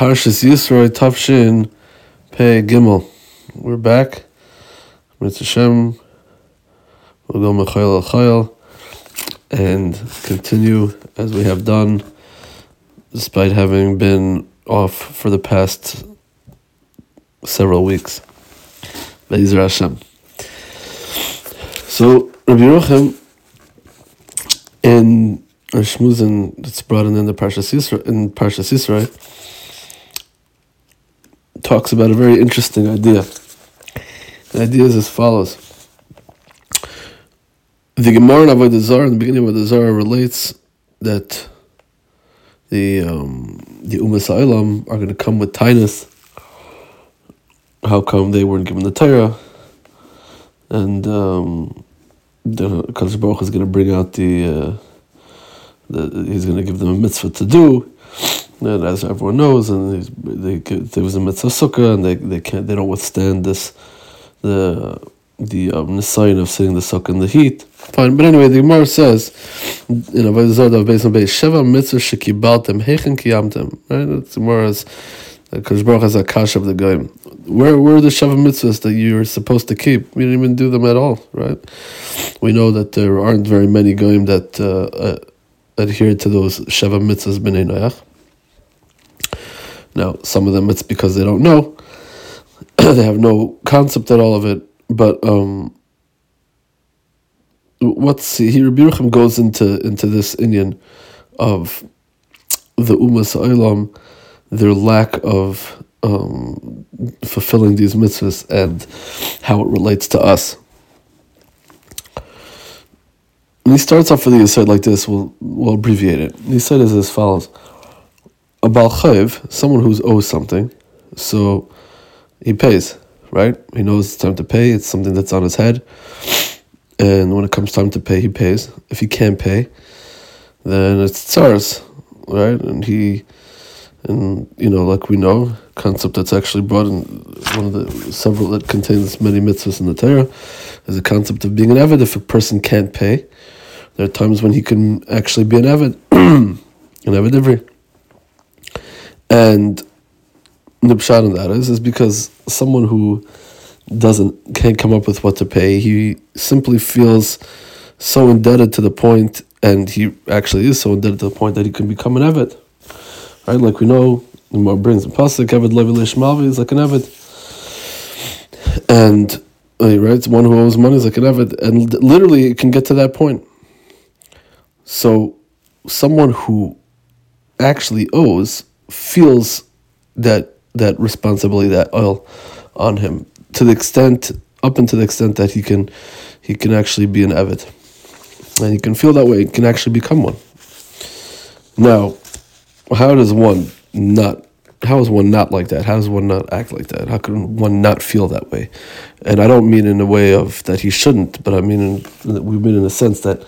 Parshas Yisro Tafshin Pei Gimel. We're back. Mitzvah Hashem. We'll go Mechayel Chayel and continue as we have done, despite having been off for the past several weeks. Be'ezras Hashem. So Rabbi Yerucham in Shmuzin that's brought in the Parshas Yisro, talks about a very interesting idea. The idea is as follows. The Gemara in Avodah Zarah, in the beginning of Avodah Zarah, relates that the Umas Ha'olam are going to come with tainus. How come they weren't given the Torah? And the Kadosh Baruch Hu is going to bring out he's going to give them a mitzvah to do. And as everyone knows, and there was a mitzvah sukkah, and they don't withstand this the sign of sitting the sukkah in the heat. Fine, but anyway, the Gemara says in Avodah Zarah based on base Sheva mitzvah shekibaltem heichen kiyamtem. Right, the Gemara is Kadosh Baruch has a kash of the goyim. Where were the Sheva mitzvahs that you're supposed to keep? We didn't even do them at all, right? We know that there aren't very many goyim that adhere to those Sheva mitzvahs b'nei Noach. Now, some of them it's because they don't know. They have no concept at all of it. But Rabbi Yerucham goes into this inyan of the Umas Ha'olam, their lack of fulfilling these mitzvahs and how it relates to us. And he starts off with the Yisod like this. We'll abbreviate it. The Yisod is as follows. A Baal Chayv, someone who's owes something, so he pays, right? He knows it's time to pay. It's something that's on his head. And when it comes time to pay, he pays. If he can't pay, then it's tzaras, right? And like we know, concept that's actually brought in one of the several that contains many mitzvahs in the Torah is the concept of being an Eved. If a person can't pay, there are times when he can actually be an Eved, an Eved Ivri. And the pshat in that is because someone who can't come up with what to pay, he simply feels so indebted to the point, and he actually is so indebted to the point that he can become an Eved. Right? Like we know, the Gemara brings in Pasuk, Eved Levi Leishmalvi is like an Eved. And right, one who owes money is like an Eved. And literally it can get to that point. So someone who actually owes feels that responsibility, that oil on him, up until the extent that he can actually be an Eved. And he can feel that way, he can actually become one. Now, how is one not like that? How does one not act like that? How can one not feel that way? And I don't mean in a way of that he shouldn't, but I mean in a sense that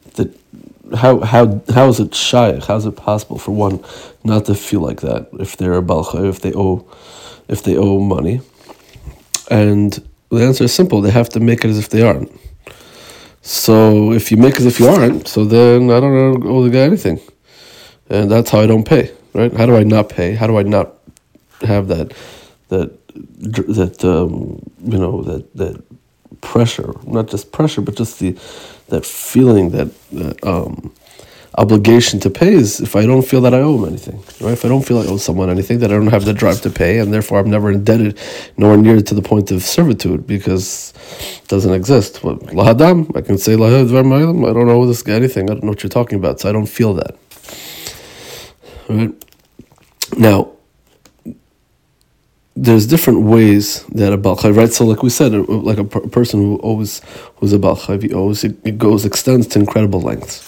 how is it shaykh? How is it possible for one not to feel like that if they're a Baal Chayv, if they owe money? And the answer is simple: they have to make it as if they aren't. So if you make as if you aren't, so then I don't owe the guy anything, and that's how I don't pay. Right? How do I not pay? How do I not have that pressure? Not just pressure, but just that feeling, that obligation to pay is if I don't feel that I owe him anything, right? If I don't feel I owe someone anything, that I don't have the drive to pay, and therefore I'm never indebted, nor near to the point of servitude, because it doesn't exist. But lahadam, I can say lahad dvar ma'olam, I don't owe this guy anything, I don't know what you're talking about, so I don't feel that. Right? Now, there's different ways that a Baal Chayv, right? So like we said, like a person who's a Baal Chayv, he owes, it extends to incredible lengths.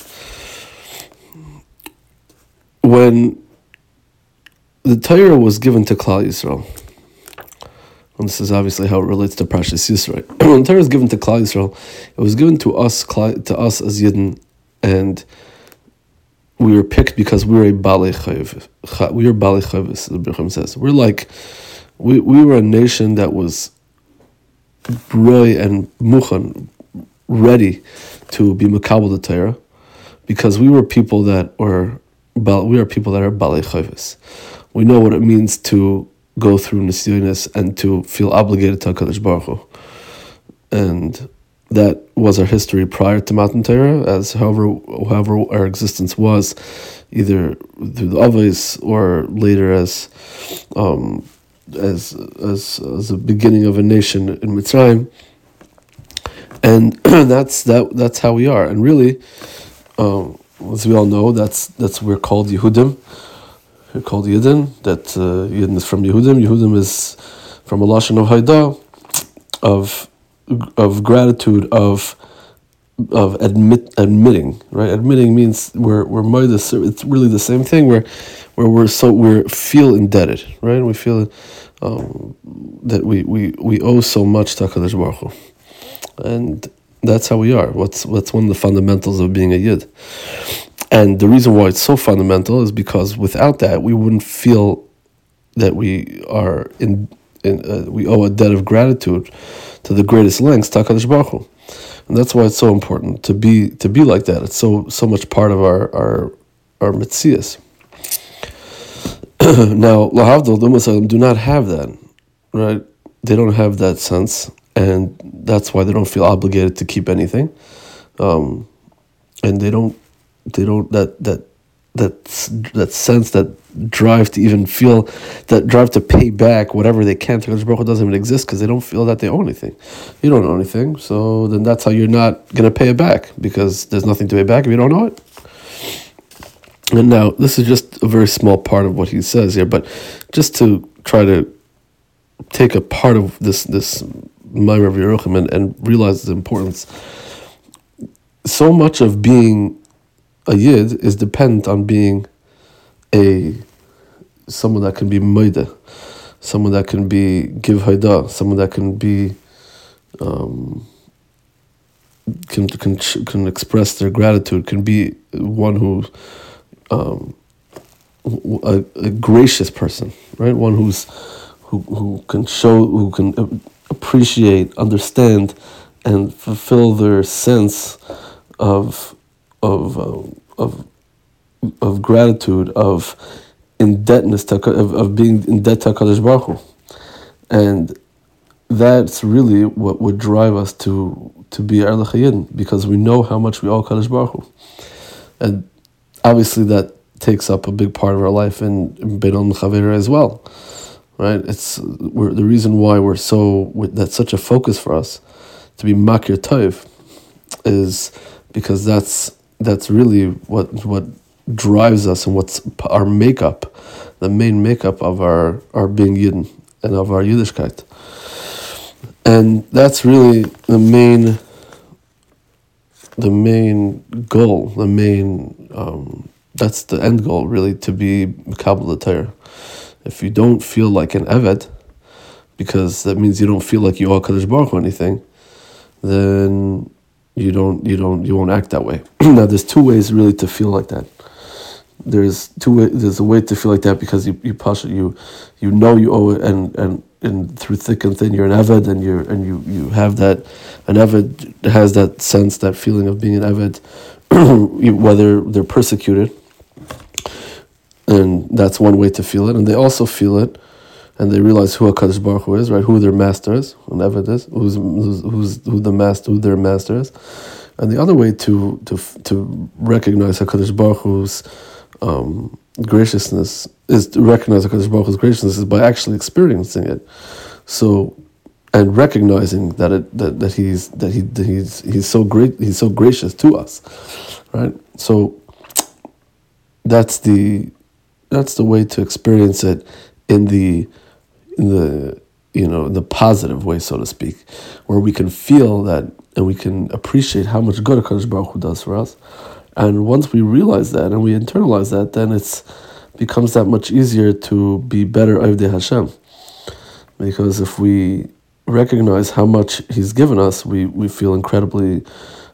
When the Torah was given to Klal Yisrael, and this is obviously how it relates to Parshas Yisro. When the Torah was given to Klal Yisrael, it was given to us as Yidden, and we were picked because we were a Balei Chayv. We were Balei Chayv, as the Birchim says. We were a nation that was broi and muchan, ready to be makabel the Torah, because we were people that are Balei Chayvus. we know what it means to go through Nisyonis and to feel obligated to HaKadosh Baruch Hu. And that was our history prior to Matan Torah, as however our existence was, either through the Avos or later as a beginning of a nation in Mitzrayim. And that's how we are. And really, as we all know, that's we're called Yehudim. We're called Yidden. That Yidden is from Yehudim. Yehudim is from a lashon of Haidah, of gratitude, of admitting, right? Admitting means we're moides. It's really the same thing. Where we feel indebted, right? We feel that we owe so much to HaKadosh Baruch Hu, and that's how we are. What's one of the fundamentals of being a Yid, and the reason why it's so fundamental is because without that we wouldn't feel that we are we owe a debt of gratitude to the greatest lengths to HaKadosh Baruch Hu. And that's why it's so important to be like that. It's so much part of our mitzias. Now, lahavdil, the Ummah do not have that, right? They don't have that sense, and that's why they don't feel obligated to keep anything, and they don't that sense, that drive to even feel, that drive to pay back whatever they can to HaKadosh Baruch Hu doesn't even exist, because they don't feel that they owe anything. You don't owe anything, so then that's how you're not going to pay it back, because there's nothing to pay back if you don't owe it. And now, this is just a very small part of what he says here, but just to try to take a part of this Ma'amer of Yerucham and realize the importance. So much of being a Yid is dependent on being someone that can be Maida, someone that can be give Haidah, someone that can be can express their gratitude, can be one who a gracious person, right? One who can show, who can appreciate, understand, and fulfill their sense of gratitude, of indebtedness, of being in debt to HaKadosh Baruch Hu. And that's really what would drive us to be Erlich Hayidin, because we know how much we owe HaKadosh Baruch Hu. And obviously that takes up a big part of our life in Beinon Chavera as well, right? The reason why that's such a focus for us to be Makir Tov is because that's really what drives us, and what's our makeup, the main makeup of our being Yidden and of our Yiddishkeit. And that's really the main goal, that's the end goal, really, to be Mekabel the Torah. If you don't feel like an Eved, because that means you don't feel like you owe HaKadosh Baruch Hu anything, then you won't act that way. Now, there's two ways really to feel like that. There's a way to feel like that because you know you owe it, and through thick and thin you're an Eved, and you have that. An Eved has that sense, that feeling of being an Eved, whether they're persecuted, and that's one way to feel it. And they also feel it, and they realize who HaKadosh Baruch Hu is, right? Who their master is, an Eved is, who their master is. And the other way to recognize HaKadosh Baruch Hu's graciousness is to recognize HaKadosh Baruch Hu's graciousness is by actually experiencing it. So, and recognizing that he's so great, he's so gracious to us, right? So that's the way to experience it in the positive way, so to speak, where we can feel that and we can appreciate how much good HaKadosh Baruch Hu does for us. And once we realize that and we internalize that, then it becomes that much easier to be better Avdei Hashem. Because if we recognize how much He's given us, we feel incredibly,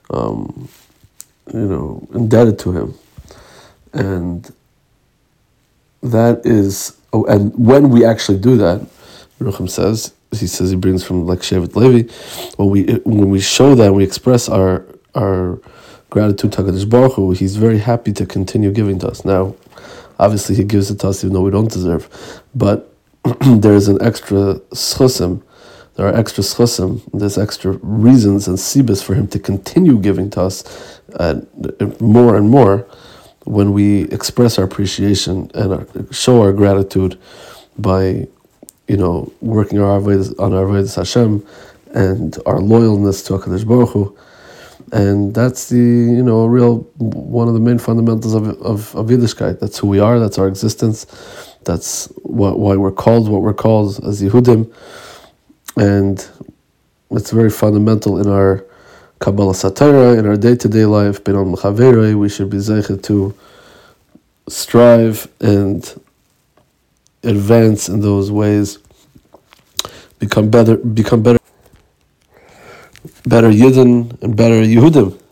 indebted to Him. And that is, and when we actually do that, Yerucham says, he brings from like Shevet Levi, when we show that, we express our gratitude to HaKadosh Baruch Hu, He's very happy to continue giving to us. Now, Obviously, He gives it to us even though we don't deserve. But there's an extra schusim. There are extra schusim. There's extra reasons and sibas for Him to continue giving to us more and more when we express our appreciation and show our gratitude by, working on our avodas Hashem and our loyalness to HaKadosh Baruch Hu. And that's the, one of the main fundamentals of Yiddishkeit. That's who we are, that's our existence, that's why we're called what we're called as Yehudim. And it's very fundamental in our Kabbalah Satira, in our day-to-day life. B'nam l'chaverei, we should be zeichet to strive and advance in those ways, become better Yidden and better Yehudim.